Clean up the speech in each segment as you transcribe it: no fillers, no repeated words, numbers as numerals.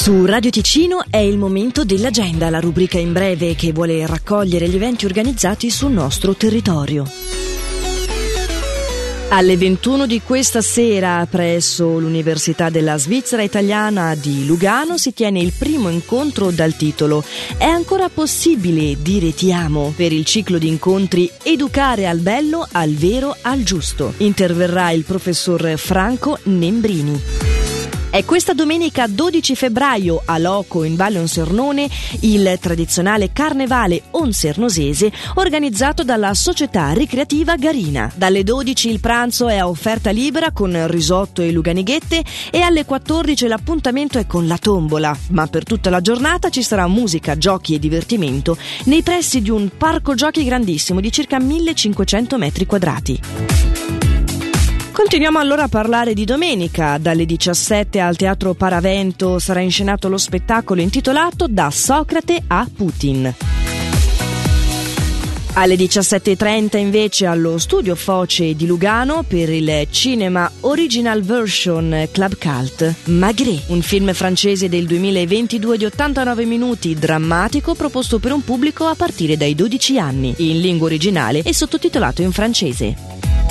Su Radio Ticino è il momento dell'agenda, la rubrica in breve che vuole raccogliere gli eventi organizzati sul nostro territorio. Alle 21 di questa sera presso l'Università della Svizzera Italiana di Lugano si tiene il primo incontro dal titolo "È ancora possibile dire ti amo?" per il ciclo di incontri Educare al bello, al vero, al giusto. Interverrà il professor Franco Nembrini. È questa domenica 12 febbraio a Loco in Valle Onsernone il tradizionale Carnevale Onsernosese organizzato dalla Società Ricreativa Garina. Dalle 12 il pranzo è a offerta libera con risotto e luganighette e alle 14 l'appuntamento è con la tombola, ma per tutta la giornata ci sarà musica, giochi e divertimento nei pressi di un parco giochi grandissimo di circa 1500 metri quadrati. Continuiamo allora a parlare di domenica. Dalle 17 al Teatro Paravento sarà inscenato lo spettacolo intitolato Da Socrate a Putin. Alle 17.30 invece allo Studio Foce di Lugano per il Cinema Original Version Club Cult Maigret, un film francese del 2022 di 89 minuti, drammatico, proposto per un pubblico a partire dai 12 anni, in lingua originale e sottotitolato in francese.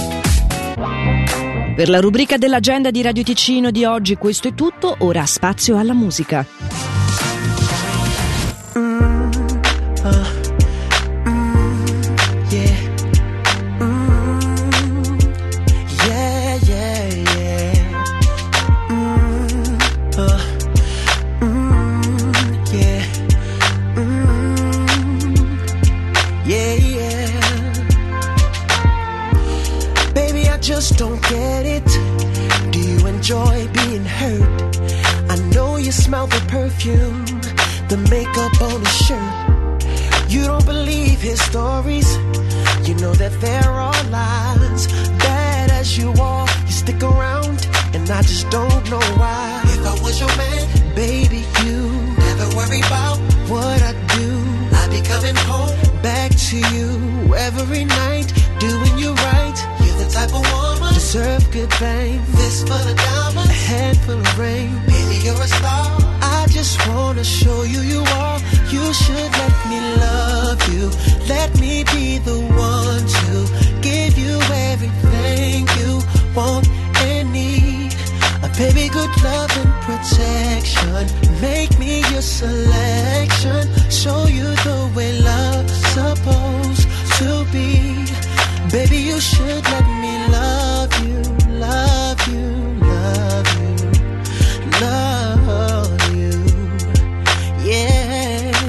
Per la rubrica dell'agenda di Radio Ticino di oggi questo è tutto, ora spazio alla musica. Just don't get it. Do you enjoy being hurt? I know you smell the perfume, the makeup on his shirt. You don't believe his stories. You know that there are lies. Bad as you are, you stick around, and I just don't know why. If I was your man, baby, you never worry about what I do. I'd be coming home back to you every night, doing you right. You're the type of woman deserve good fame. Fist full of diamonds, a handful of rain. Baby, you're a star. I just wanna show you you are. You should let me love you. Let me be the one to give you everything you want and need. Baby, good love and protection. Make me your selection. Show you the way love's supposed to be. Baby, you should let me love you, love you, love you, love you. Yeah.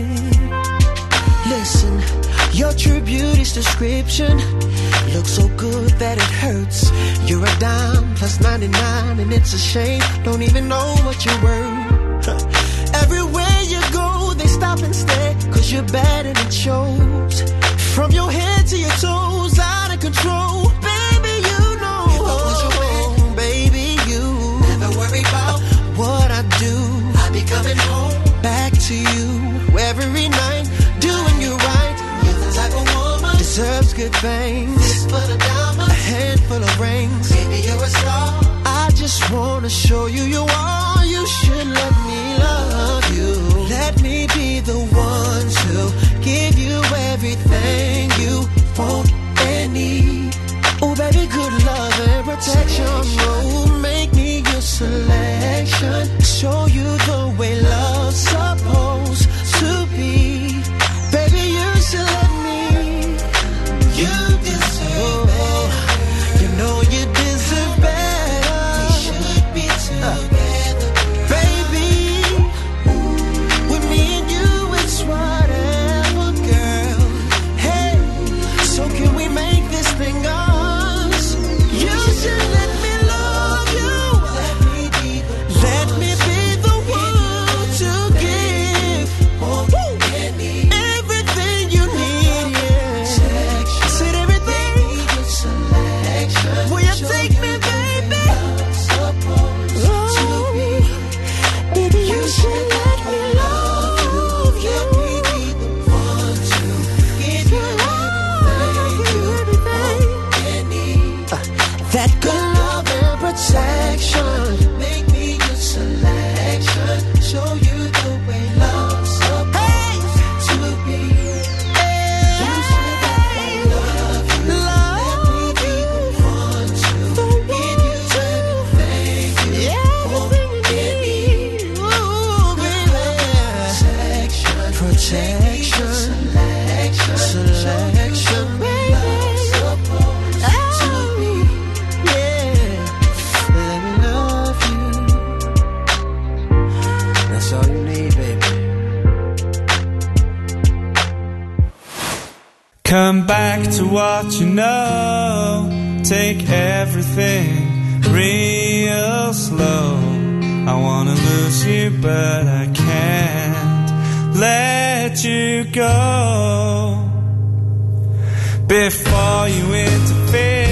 Listen, your true beauty's description looks so good that it hurts. You're a dime plus 99 and it's a shame. Don't even know what you're worth. Everywhere you go, they stop and stare, 'cause you're bad and it shows. From your head to your toes, out of control. Baby, you know. If I was your man, baby, you never worry about what I do. I'd be coming home back to you every night, doing you right. You're the type of woman deserves good things. Fist full of diamonds, a handful of rings. Baby, you're a star. I just wanna show you you are. You should let me love you. Let me be the one to give you everything you want and need. Oh baby, good love and protection. Oh, make me your selection. Show you the way love's supposed to be. Baby, you should let me. You deserve better. You know you deserve better. We should be together, baby. With me and you, it's whatever, girl. Hey, so can we make this thing us? You should let me love what you know. Take everything real slow. I wanna lose you, but I can't let you go. Before you interfere,